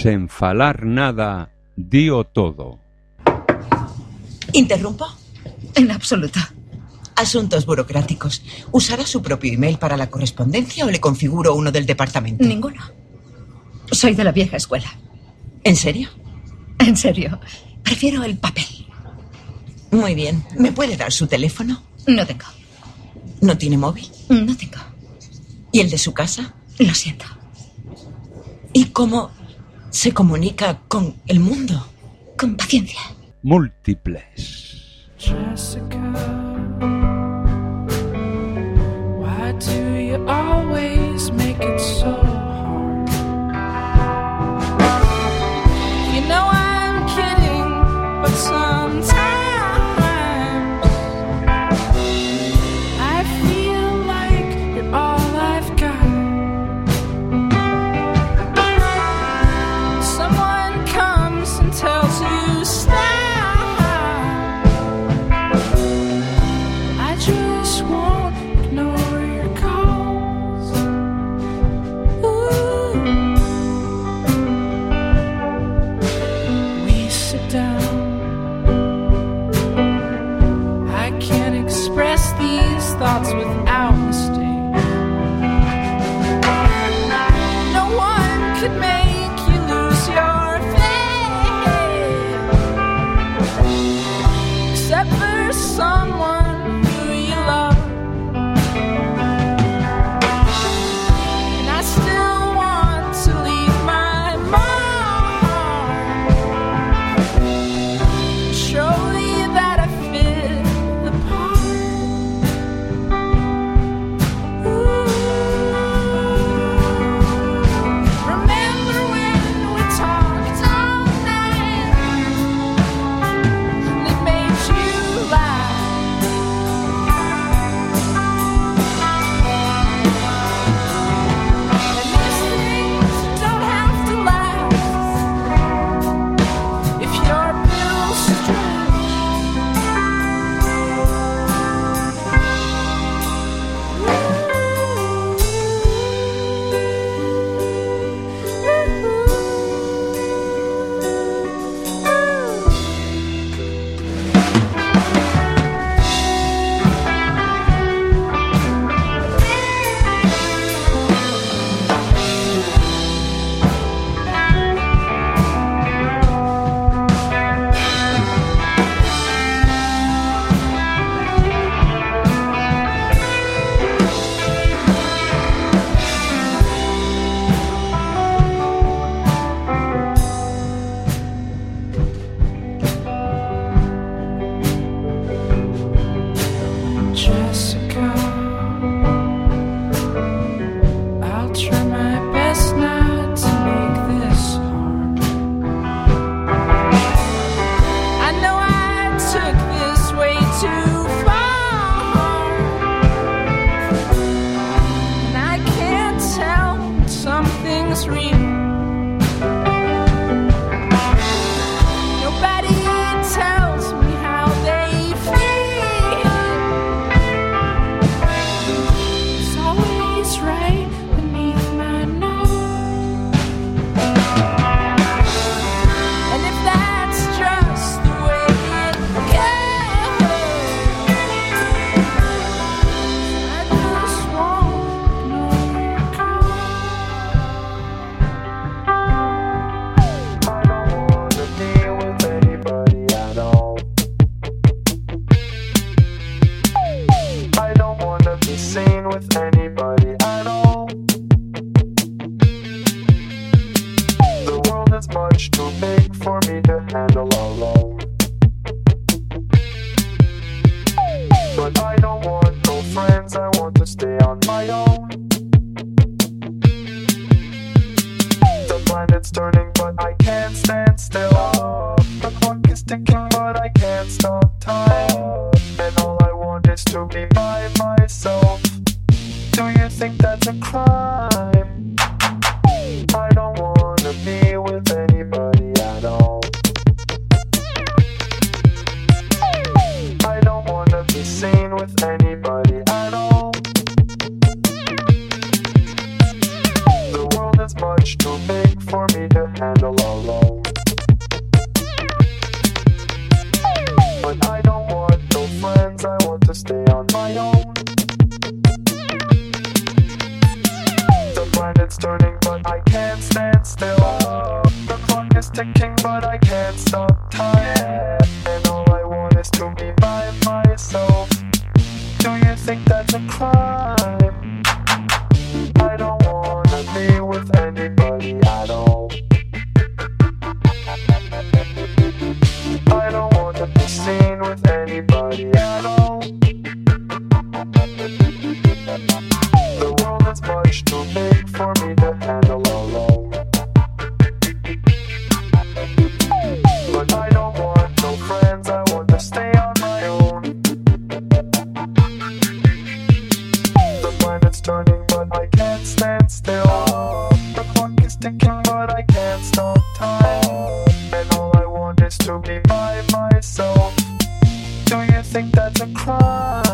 Sen falar nada, dío todo. ¿Interrumpo? En absoluto. Asuntos burocráticos. ¿Usará su propio email para la correspondencia o le configuro uno del departamento? Ninguno. Soy de la vieja escuela. ¿En serio? En serio. Prefiero el papel. Muy bien. ¿Me puede dar su teléfono? No tengo. ¿No tiene móvil? No tengo. ¿Y el de su casa? Lo siento. ¿Y cómo se comunica con el mundo? Con paciencia. Múltiples. Jessica, why do you always make it so hard? You know I'm kidding, but sometimes I feel like you're all I've got. Someone comes and tells you stop. Just won't ignore your calls. Ooh. We sit down. I can't express these thoughts without mistake. No one could make you lose your faith, except for someone love. And I still want to leave my mark. Show you that I fit the part. Ooh. Remember when we talked all night and it made you laugh? Jessica, I'll try my best not to make this hard. I know I took this way too far, and I can't tell when something's real. Nobody tells me how they feel. It's always right beneath my nose. And if that's just the way it goes, I just won't ignore your calls. I don't wanna be with anybody at all. I don't wanna be seen with anybody at all. The world is much too big for me to handle alone. But I don't want no friends, I want to stay on my own. The planet's turning, but I can't stand still. The clock is ticking, but I can't stop time. And all I want is to be by myself. Do you think that's a crime? I don't wanna be with anybody at all. I don't wanna be seen with anybody at all. The world is much too big for me to but I can't stand still. The clock is ticking, but I can't stop time. And all I want is to be by myself. Do you think that's a crime? I don't wanna be with anybody at all. I don't want to be seen with anybody at all. The world is much too big for me to handle alone. But I don't want no friends, I want to stay on my own. The planet's turning, but I can't stand still. The clock is ticking, but I can't stop time. And all I want is to be by myself. Do you think that's a crime?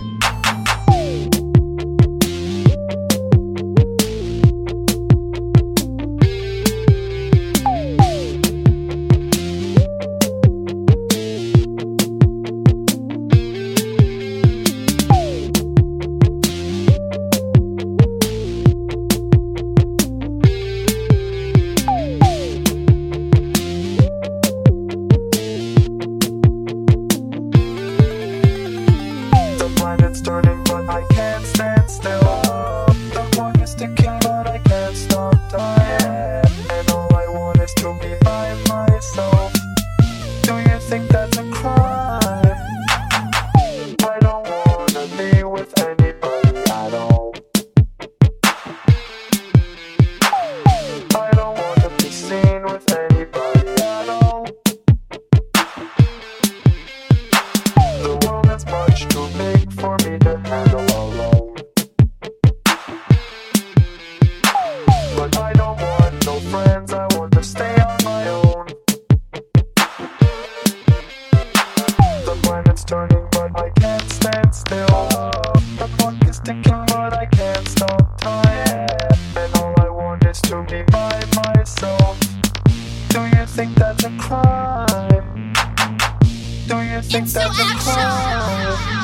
The planet's turning, but I can't stand still. The clock is ticking, but I can't stop time. And all I want is to be by myself. Do you think that's a crime? I don't wanna be with anybody at all. I don't want to be seen with anybody at all. The world is much too big for me to handle alone. But I don't want no friends, I want to stay on my own. The planet's turning, but I can't stand still. The clock is ticking, but I can't stop time. And all I want is to be by myself. Do you think that's a crime? Do you think that's a crime?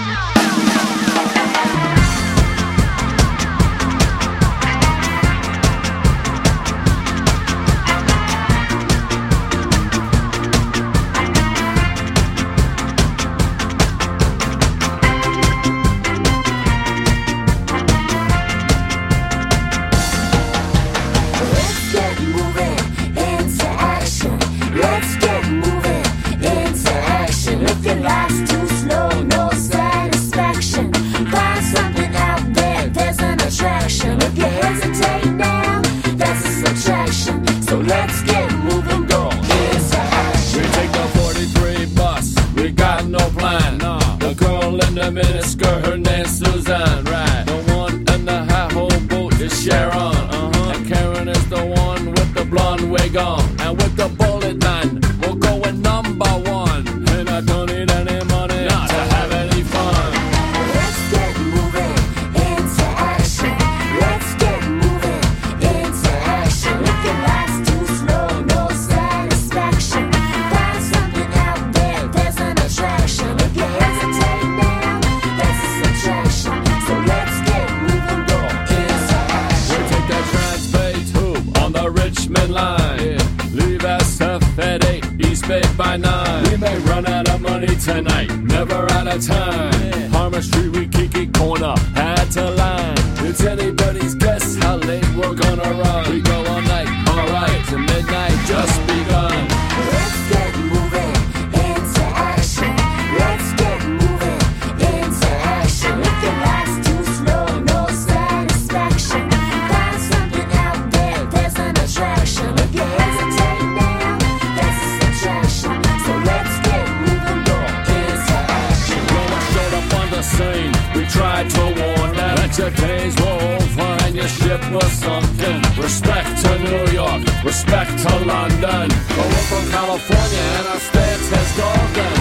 Let's get moving into action. Let's get moving into action. If your life's too slow, no satisfaction. Find something out there, there's an attraction. If you hesitate now, that's a subtraction. So let's get moving, go into action. We take the 43 bus, we got no plan. The girl in the miniskirt, her name's Suzanne, right? The one in the high hole boat is Sharon, and Karen is the one with the blonde wig on. And with the bullet man, we're going number one. And I don't need any money to have any fun. Let's get moving into action. Let's get moving into action. If your life's too slow, no satisfaction. Find something out there, there's an attraction. If you hesitate now, that's a subtraction. So let's get moving, go into We action. take that Transbay tube on the Richmond line. Leave SF at 8, East Bay by 9. We may run out of money tonight, never out of time. Harmon Street, we kiki corner, had to line. It's anybody's guess how late we're gonna run. We go all night, alright, to midnight just begun. Let's get moving into action. Let's get moving into action. If your life's too slow, no satisfaction. Find something out there, there's an attraction. If you hesitate now, that's a subtraction. So let's get moving, go into action. When we showed up on the scene, we tried to warn them that your days were over and your ship was sunken. Respect to New York, respect to London. But we're from California and our stance is golden.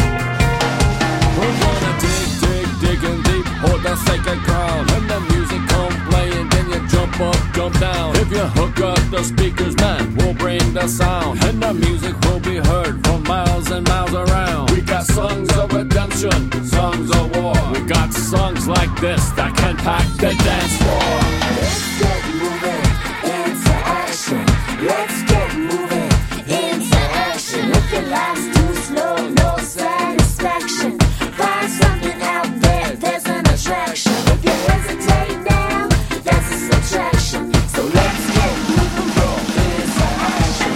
We're gonna dig, dig, digging deep, hold the sacred ground. And the music the speakers, man, we'll bring the sound, and the music will be heard from miles and miles around. We got songs of redemption, songs of war. We got songs like this that can pack the dance floor. Let's get moving into action. Let's get moving into action. If your life's too slow, no satisfaction. Find something out there, there's an attraction. If you hesitate now, that's a subtraction. So let's get moving into action.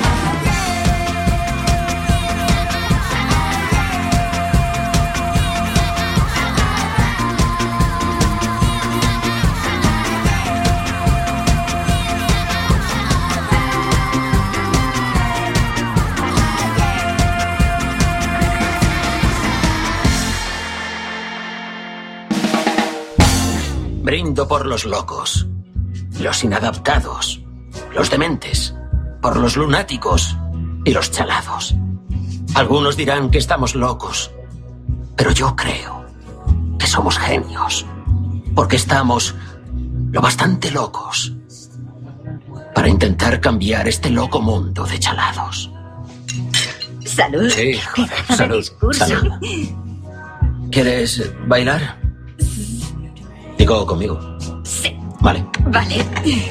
Brindo por los locos, los inadaptados, los dementes, por los lunáticos y los chalados. Algunos dirán que estamos locos, pero yo creo que somos genios, porque estamos lo bastante locos para intentar cambiar este loco mundo de chalados. Salud. Sí, joder, Pedazo de salud, discurso. salud. ¿Quieres bailar? Digo, conmigo. Sí. Vale. Vale.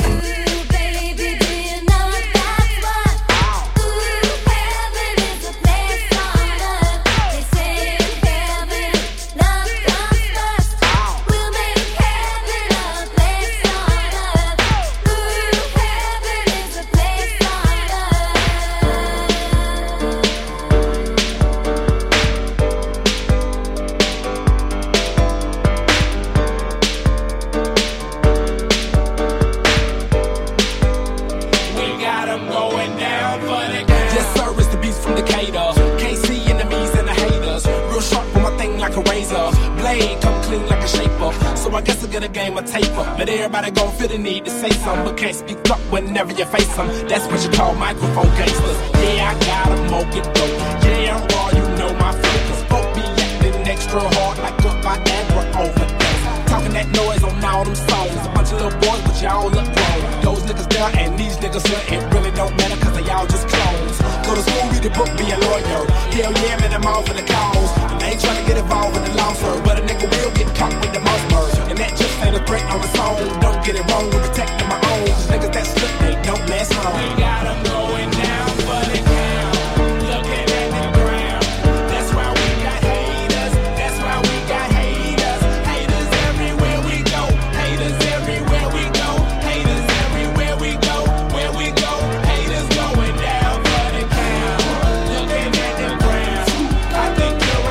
Yes, sir, it's the beast from Decatur. Can't see enemies and the haters. Real sharp with my thing like a razor. Blade come clean like a shaper. So I guess I get a game of taper. But everybody gon' feel the need to say something, but can't speak up whenever you face them. That's what you call microphone gangsters. Yeah, I got a mocha dope. Yeah, I'm raw, you know my flow. Cause folk be acting extra hard like a Viagra overdose. Talking that noise on all them songs. A bunch of little boys, but y'all look grown. Those niggas there and these niggas here, it really don't matter cause they all just clones. Go to school, read the book, be a lawyer. Hell yeah, man, I'm all for the cause. And they ain't tryna get involved in the law, sir. But a nigga will get caught with the mouse merge. And that just ain't a threat on its own. Don't get it wrong, we're protecting my own. Cause niggas that slip, they don't last long. We got them going down for the count. Looking at the ground. That's why we got haters. That's why we got haters. Haters everywhere we go. Haters everywhere we go. Haters everywhere we go. Where we go. Haters going down for the count. Looking at the ground. I think you're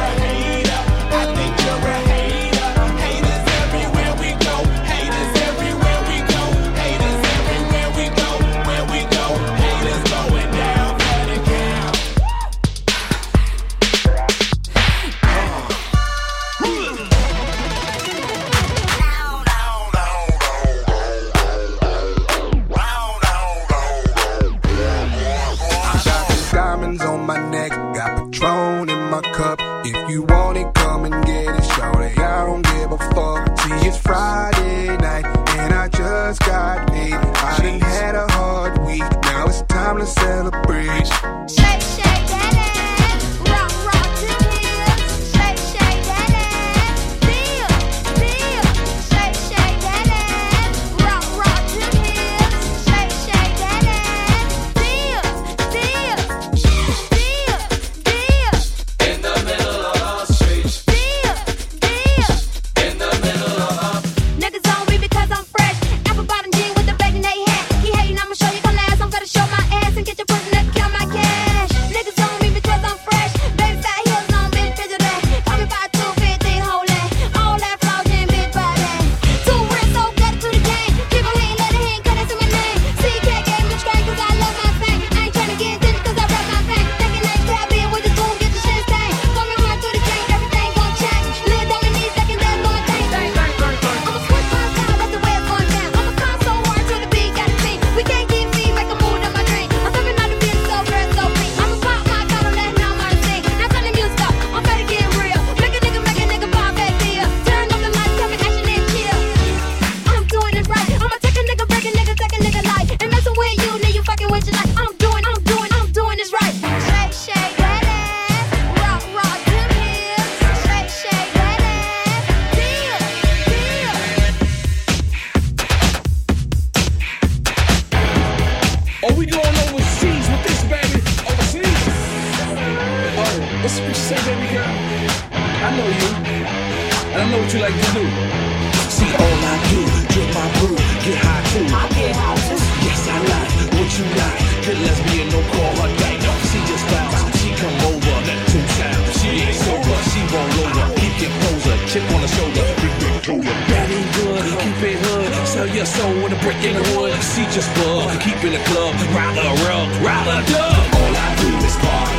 say, baby girl? I know you, and I know what you like to do. See, all I do, drink my brew, get high too. I get high too. Yes, I like what you like. Good lesbian, no call her gay. She just bounce, she come over, that two times. She ain't sober, she won't over. Keep your poser, chip on the shoulder. That ain't good, keep it hood. Sell your soul with a brick in the wood. She just bug, keep in the club. Ride the rug, ride the dub. All I do is party.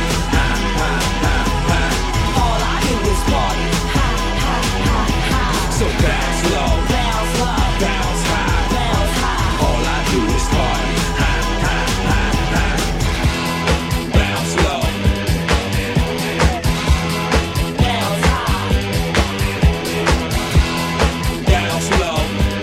All I do is party. So bounce low, Bounce low. bounce high. Bounce high. All I do is party. Bounce low, Bounce high. bounce low.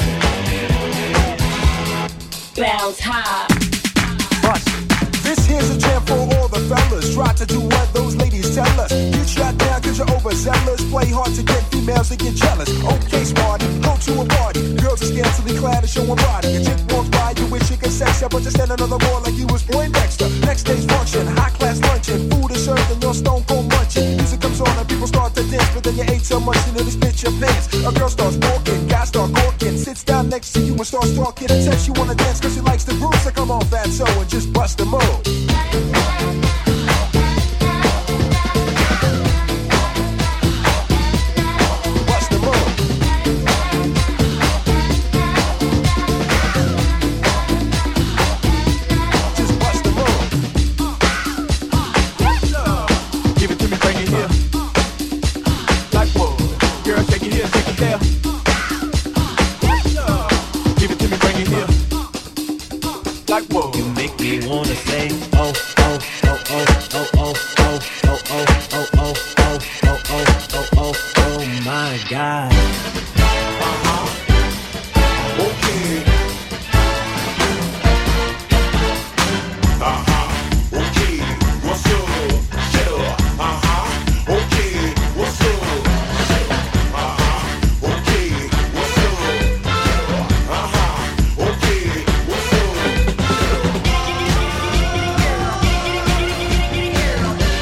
Bounce high. This here's a jam for all the fellas. Try to do what those ladies tell us. Get shot down cause you're overzealous. Play hard to get females to get jealous. Okay, smarty, go to a party. Girls are scantily clad and showing body. A chick walks by, you wish you could sex her, but you stand another wall like you was Poindexter. Next day's function, high class luncheon. Food is served and you're stone cold munching. Music comes on and people start to dance, but then you ate so much you nearly spit your pants. A girl starts walking, guys start gawking. Sits down next to you and starts talking. And says she wanna dance cause she likes the groove. So come on, fatso, and just bust the move. Bust the move. Just bust the move. Give it to me, bring it here. Like whoa. Girl, shake it here, shake it there. Give it to me, bring it here. Like whoa. You make me wanna say, oh, oh, oh, oh, oh, oh, oh, oh, oh, oh, oh, oh, oh, oh, oh, oh, my God. Okay. Okay. What's up? Yeah. Okay. What's up? Okay. What's up? Okay. What's up?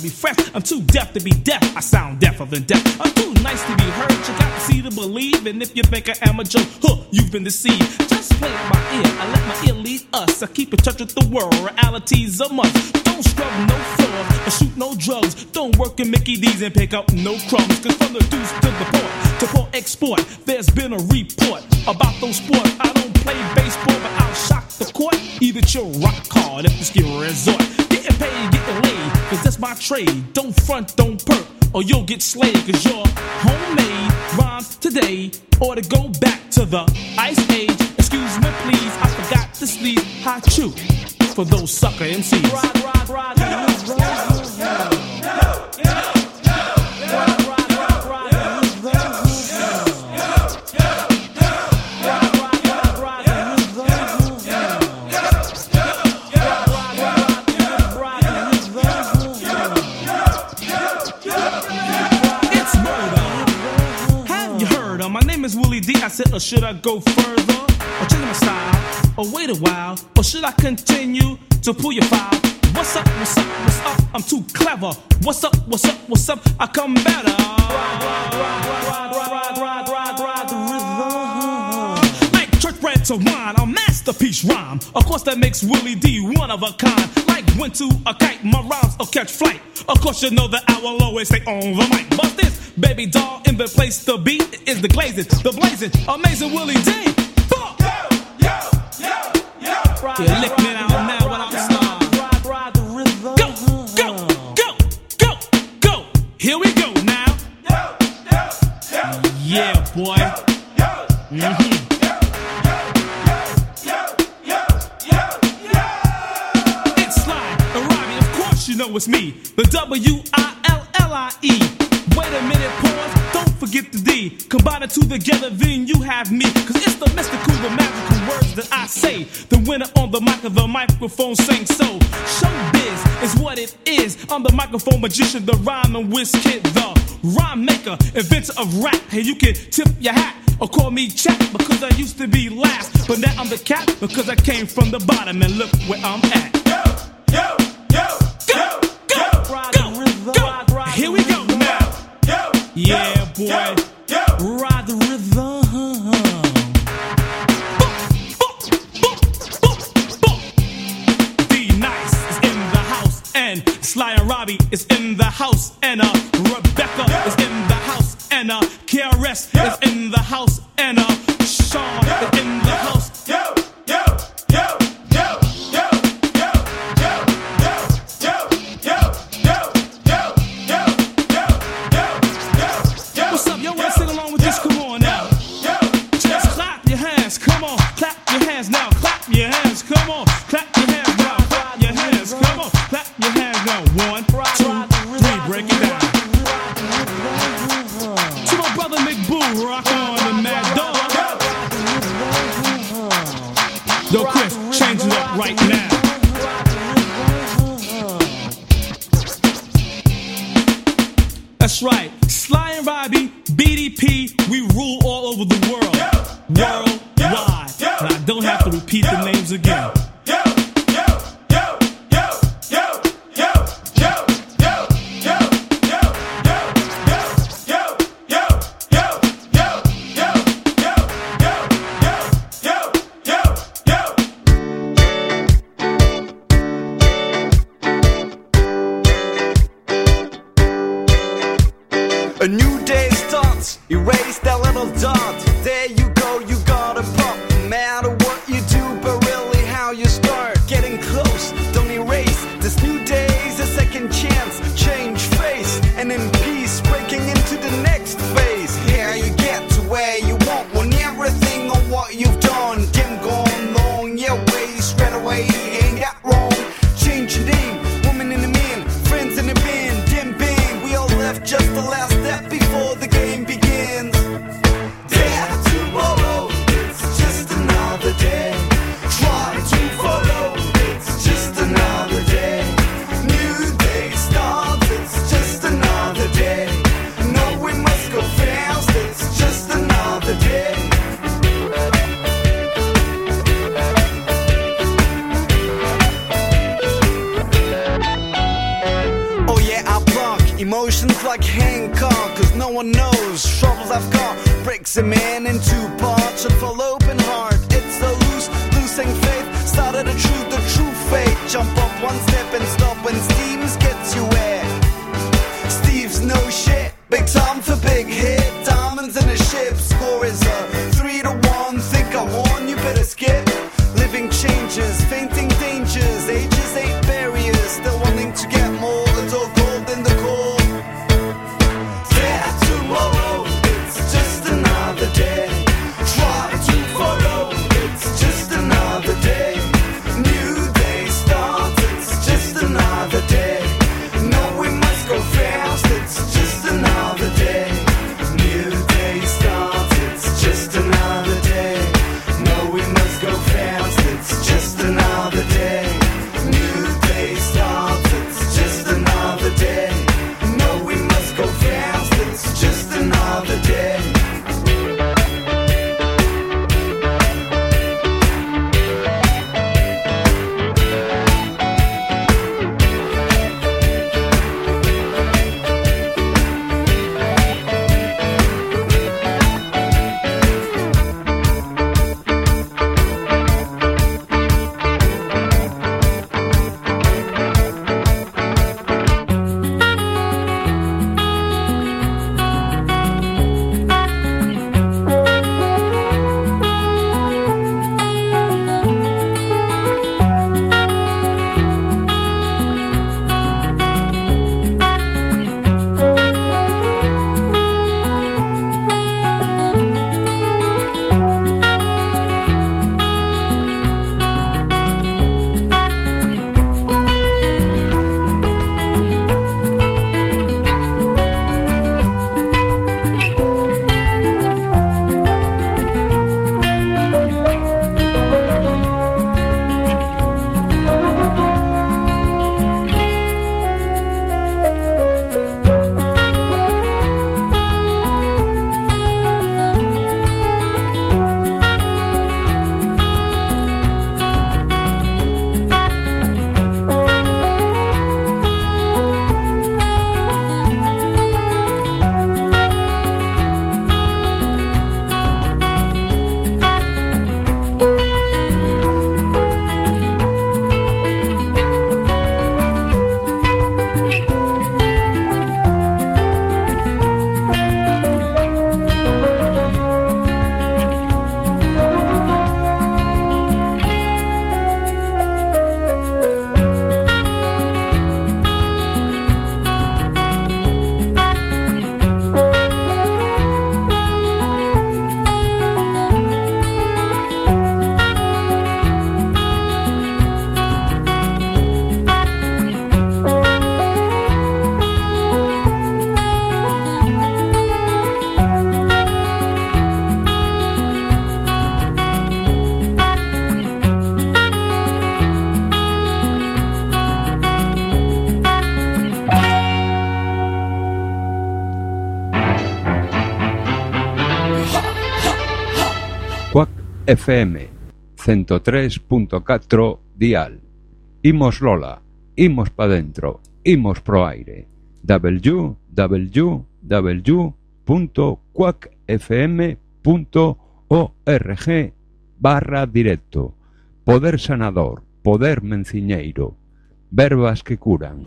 be fresh. I'm too deaf to be deaf. I sound deafer than deaf. I'm too nice to be heard. You got to see to believe. And if you think I am a joke, you've been deceived. Just play it by ear. I let my ear lead us. I keep in touch with the world. Reality's a must. Don't scrub no floors or shoot no drugs. Don't work in Mickey D's and pick up no crumbs. Cause from the deuce to the port, to port export, there's been a report about those sports. I don't play baseball, but I'll shock the court. Either your rock hard if the skill resort. Getting paid, getting laid, cause that's my trade. Don't front, don't perk, or you'll get slayed. Cause your homemade rhymes today ought to go back to the ice age. Excuse me please, I forgot to sneeze. Hot chew for those sucker MCs. I said, or should I go further? Or change my style? Or wait a while? Or should I continue to pull your file? What's up, what's up, what's up? I'm too clever. What's up, what's up, what's up? I come better. Like church bread to wine, a masterpiece rhyme. Of course that makes Willie D one of a kind. Like went to a kite, my rhymes will catch flight. Of course you know that I will always stay on the mic. Bust this, baby doll, in the place to be is the glazing, the blazing, amazing Willie D. You lick me down now when I'm slide. Go, go, go, go, go. Here we go now. Yeah, boy. It's Sly, Robbie, of course you know it's me. The W-I-L-L-I-E. Wait a minute, pause, don't forget the D. Combine the two together, then you have me. Cause it's the mystical, the magical words that I say. The winner on the mic of the microphone sings so. Showbiz is what it is. I'm the microphone magician, the rhyme and whiz kid, the rhyme maker, inventor of rap. Hey, you can tip your hat or call me Chap because I used to be last. But now I'm the cat because I came from the bottom and look where I'm at. Yo, yo, yo, go, go, go, go, go. Here we go now. Yeah, boy, ride the rhythm. D-Nice is in the house, and Sly and Robbie is in the house, and Rebecca is in the house, and KRS is in the house, and Sean is in the house. That's right, Sly and Robbie, BDP, we rule all over the world, worldwide, and I don't have to repeat the names again. A new day starts, erase that little dot. There you go, you gotta pop. No matter what you do, but really how you start. Getting close, don't erase. This new day's a second chance. Change face, and in peace, breaking into the next phase. Here you get to where you want, when everything on what you've done. Game gone long, your way straight away, ain't that wrong. Change your name, woman in the man, friends in the band, dim bang. We all left just the last step before the game begins. Day after tomorrow, it's just another yeah, I block emotions like Hancock, cause no one knows troubles I've got. Breaks a man in two parts, should fall open heart. It's so loose, losing faith, started the true fate. Jump up one step and stop when Steve's gets you wet. Steve's no shit, big time for big hit. Diamonds in a ship, score is a 3-1. Think I won, you better skip. Living changes, fainting dangers, ages ain't barriers. Still wanting to get more, it's all gold in the core. Yeah, tomorrow, it's just another day. Try to follow, it's just another day. New day starts, it's just another day. No, we must go fast, it's just another day. New day starts, it's just another day. No, we must go fast, it's just another day. New day starts, it's just another day. No, we must go fast, it's just another day. FM 103.4 dial. Imos Lola, imos pa dentro, imos pro aire. www.quackfm.org/directo. Poder sanador, poder menciñeiro, verbas que curan.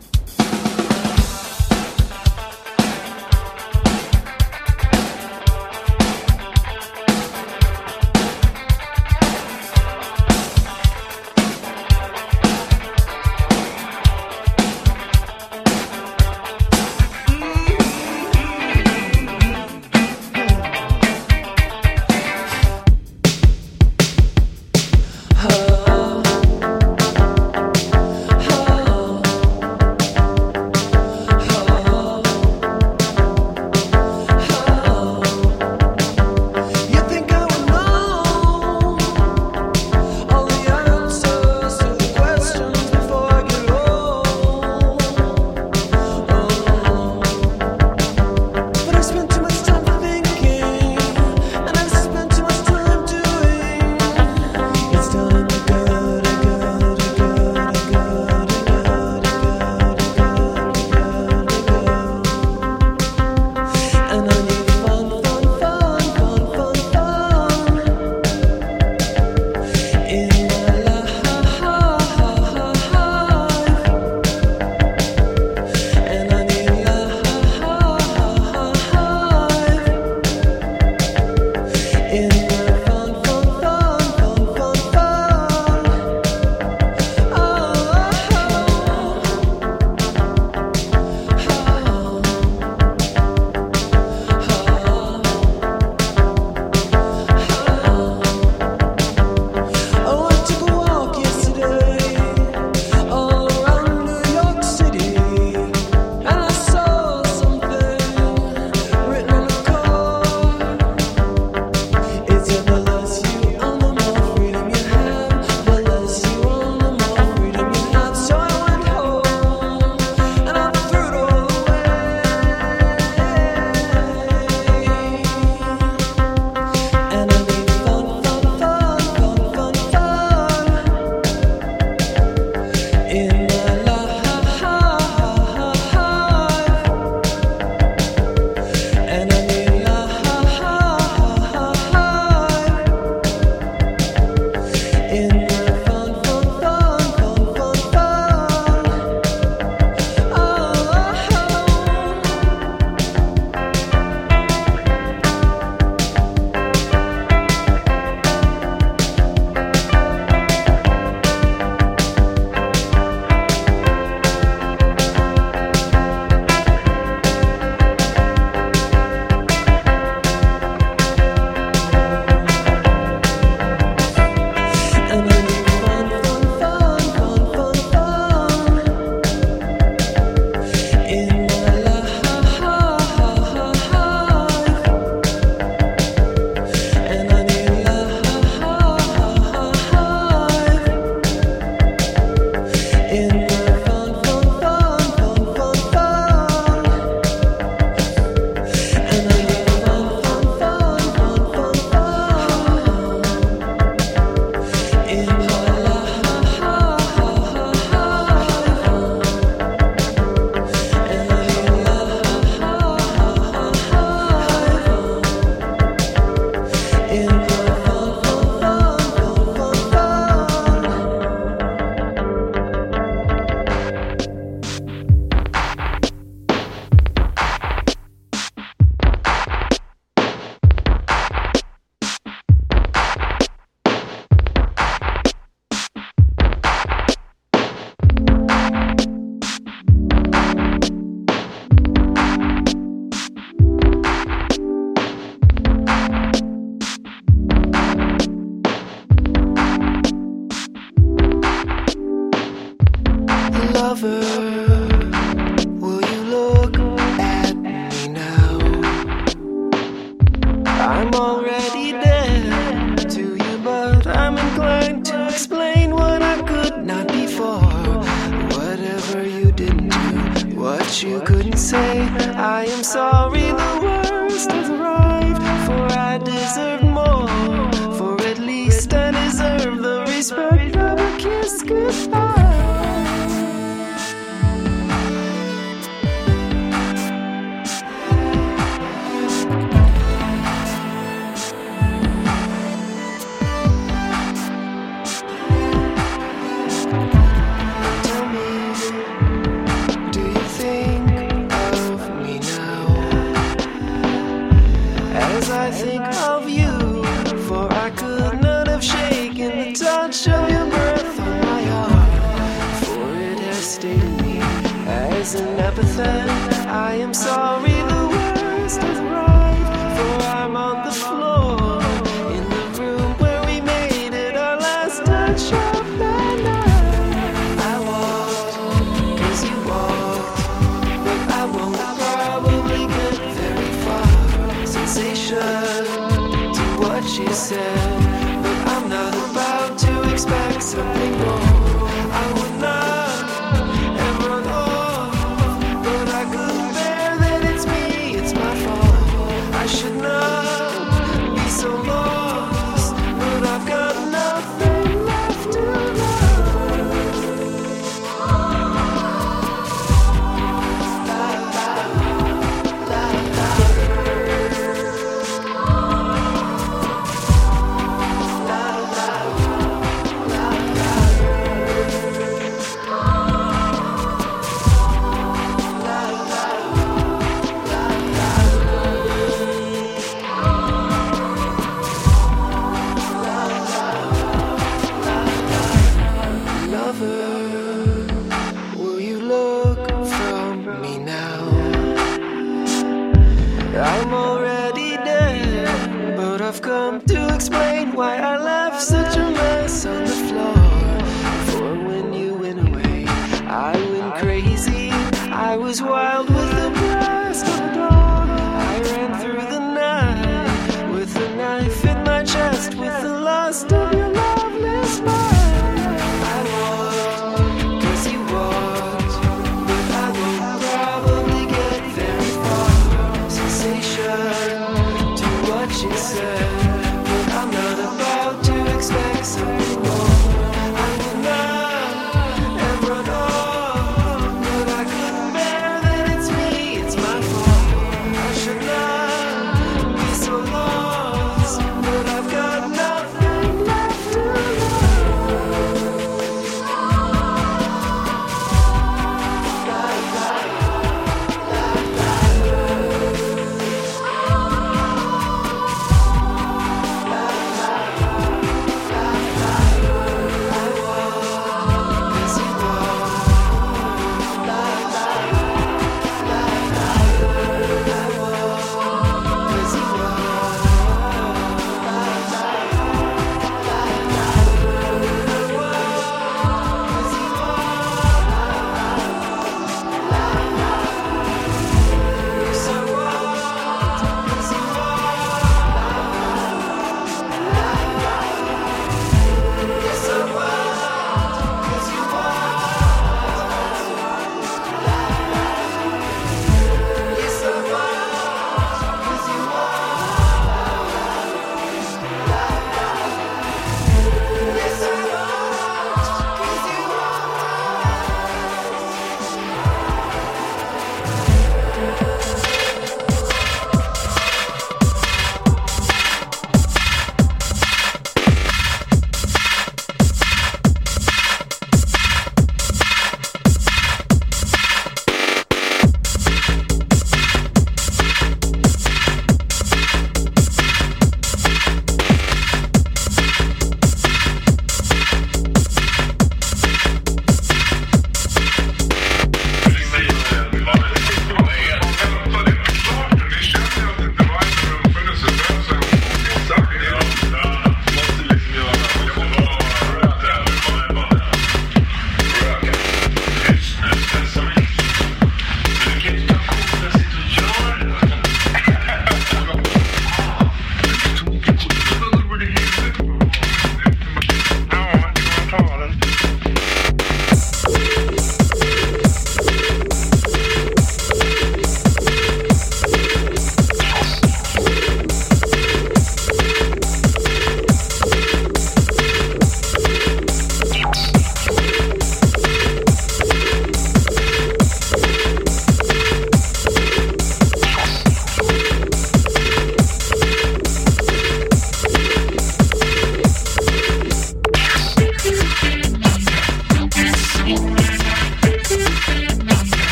But you couldn't say, I am sorry, the worst has arrived. For I deserve more, for at least I deserve the respect of a kiss goodbye. I think of you, for I could not have shaken the touch of your breath on my arm, for it has stayed in me as an epithet. I am sorry, the worst has arrived, for I'm on the floor in the room where we made it our last touch of the night. I walked, 'cause you walked, but I won't probably get very far. Sensation to what she said, but I'm not about to expect something more. I would not have run off, but I couldn't bear that it's me, it's my fault. I should not be so lost, but I've got nothing left to will you look from me now? I'm already dead, but I've come to explain why I left such a mess on the floor. For when you went away, I went crazy. I was wild with the blast of dawn. I ran through the night with a knife in my chest, with the lust of your loveless mind. I walked, 'cause you walked, but I won't probably get very far. Sensation to what she said, but I'm not about to expect something more. I would not have run off, but I couldn't bear that it's me,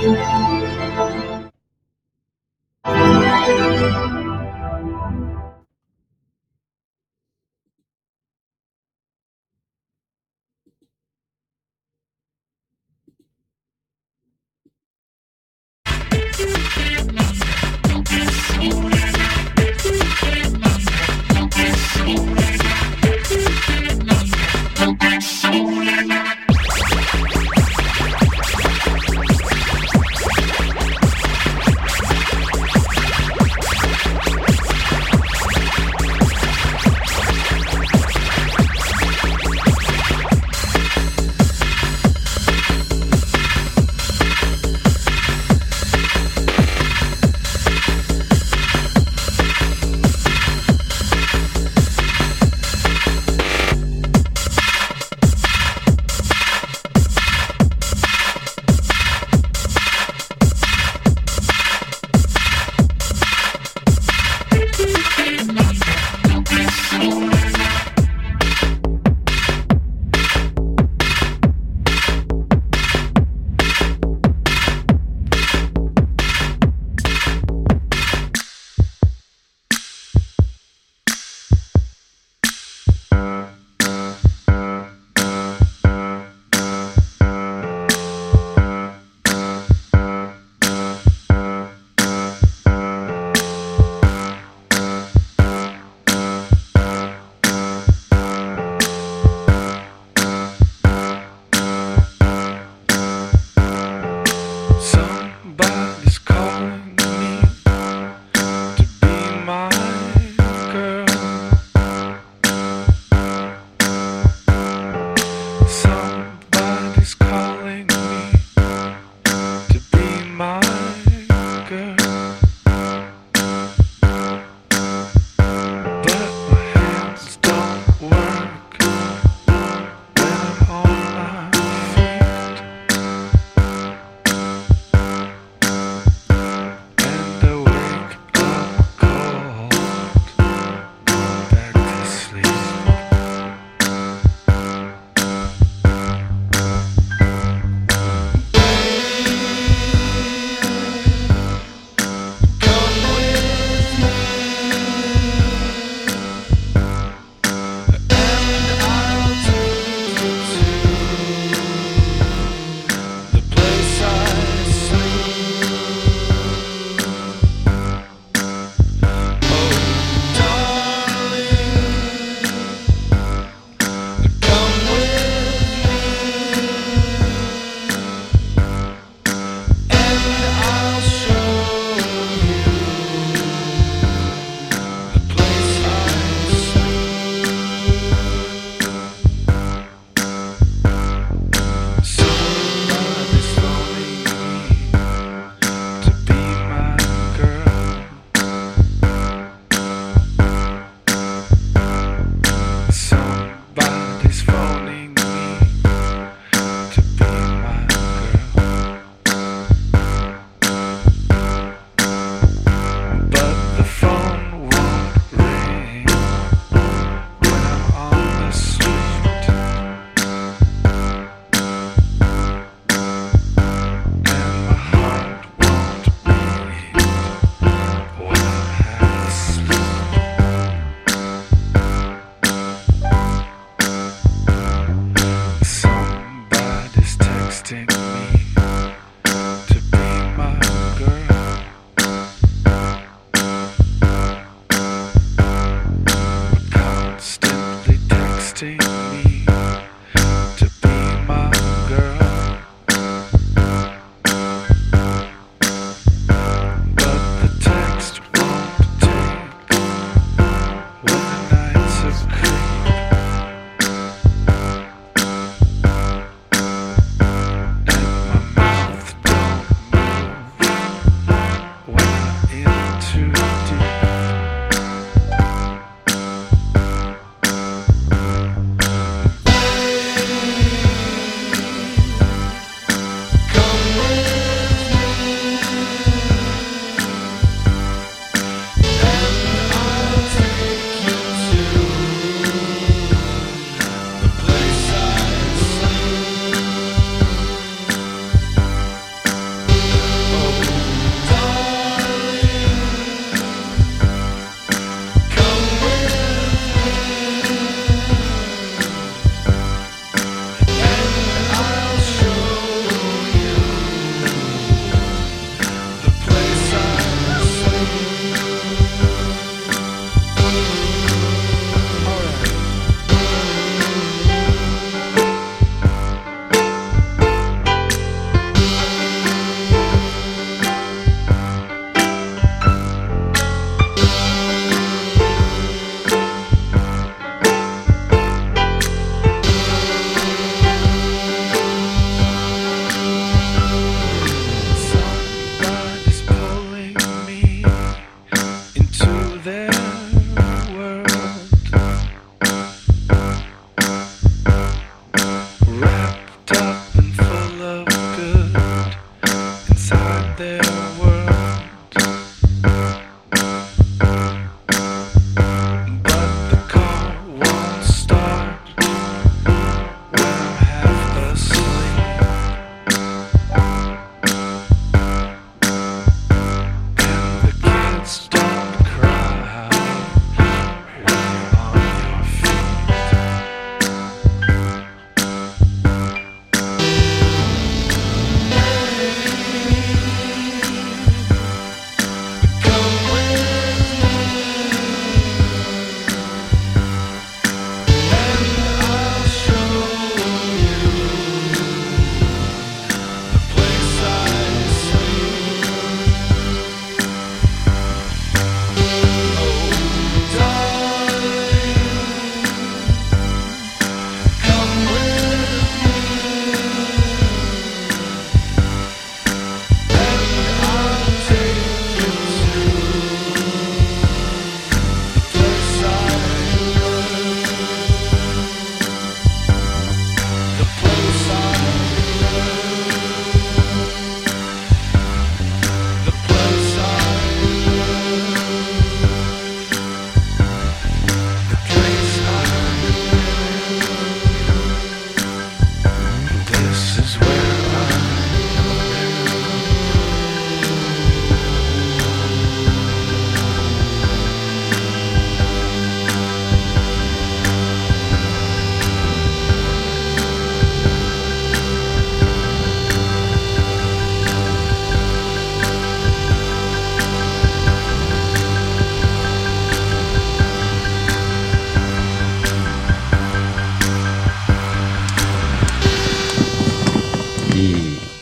And my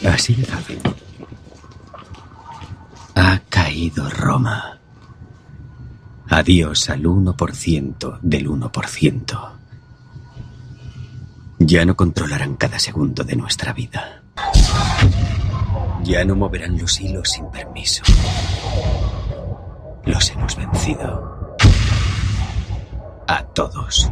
Así de fácil. Ha caído Roma. Adiós al 1% del 1%. Ya no controlarán cada segundo de nuestra vida. Ya no moverán los hilos sin permiso. Los hemos vencido. A todos.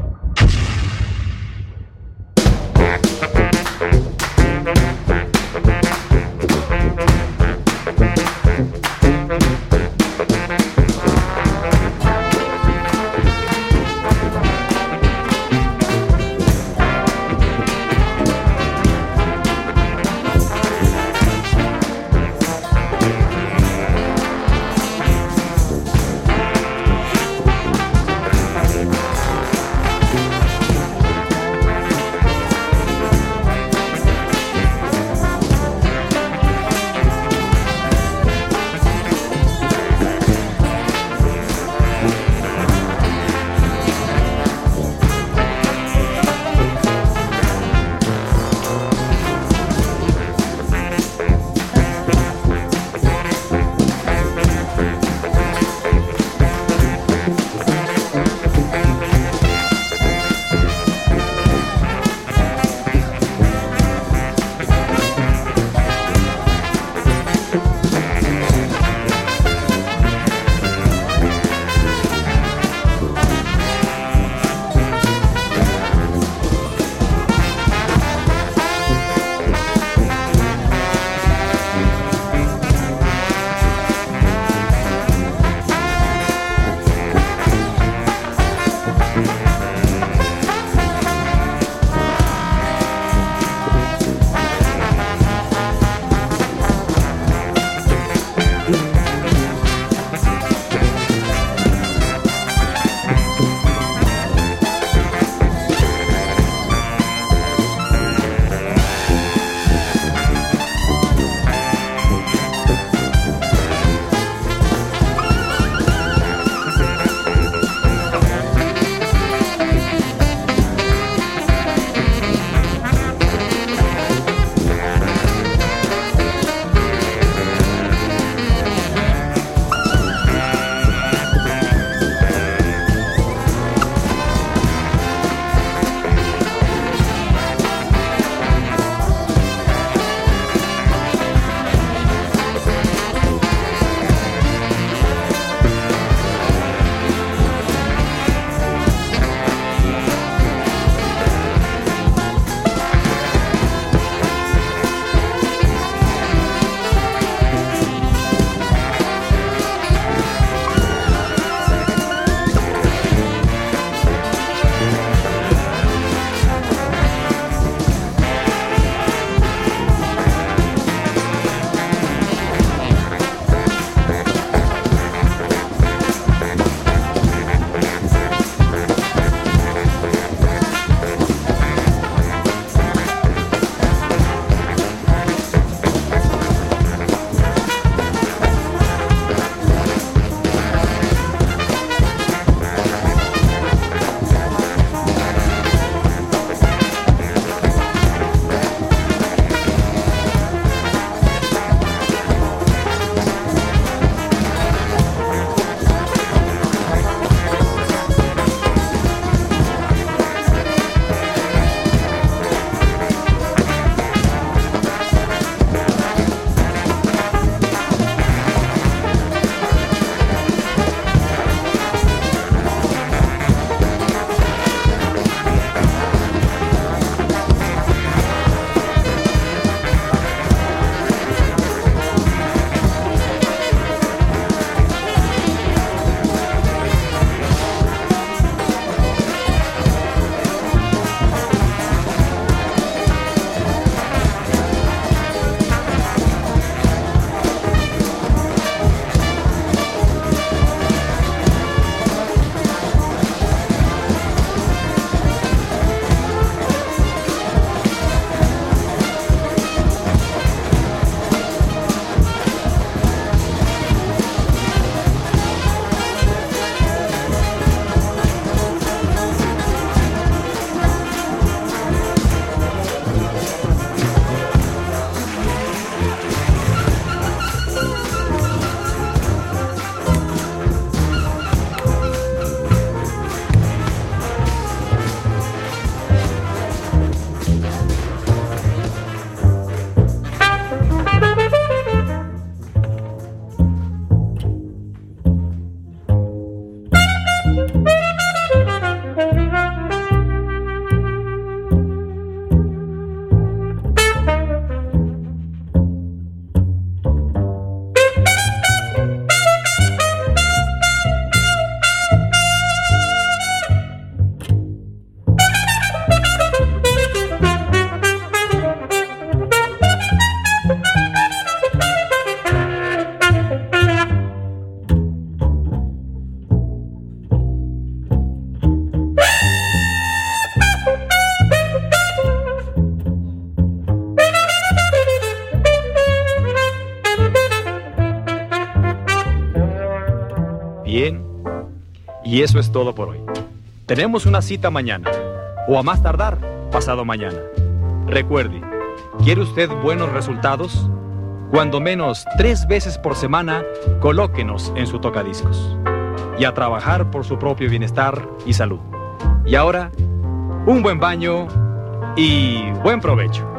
Y eso es todo por hoy. Tenemos una cita mañana, o a más tardar, pasado mañana. Recuerde, ¿quiere usted buenos resultados? Cuando menos 3 veces por semana, colóquenos en su tocadiscos. Y a trabajar por su propio bienestar y salud. Y ahora, un buen baño y buen provecho.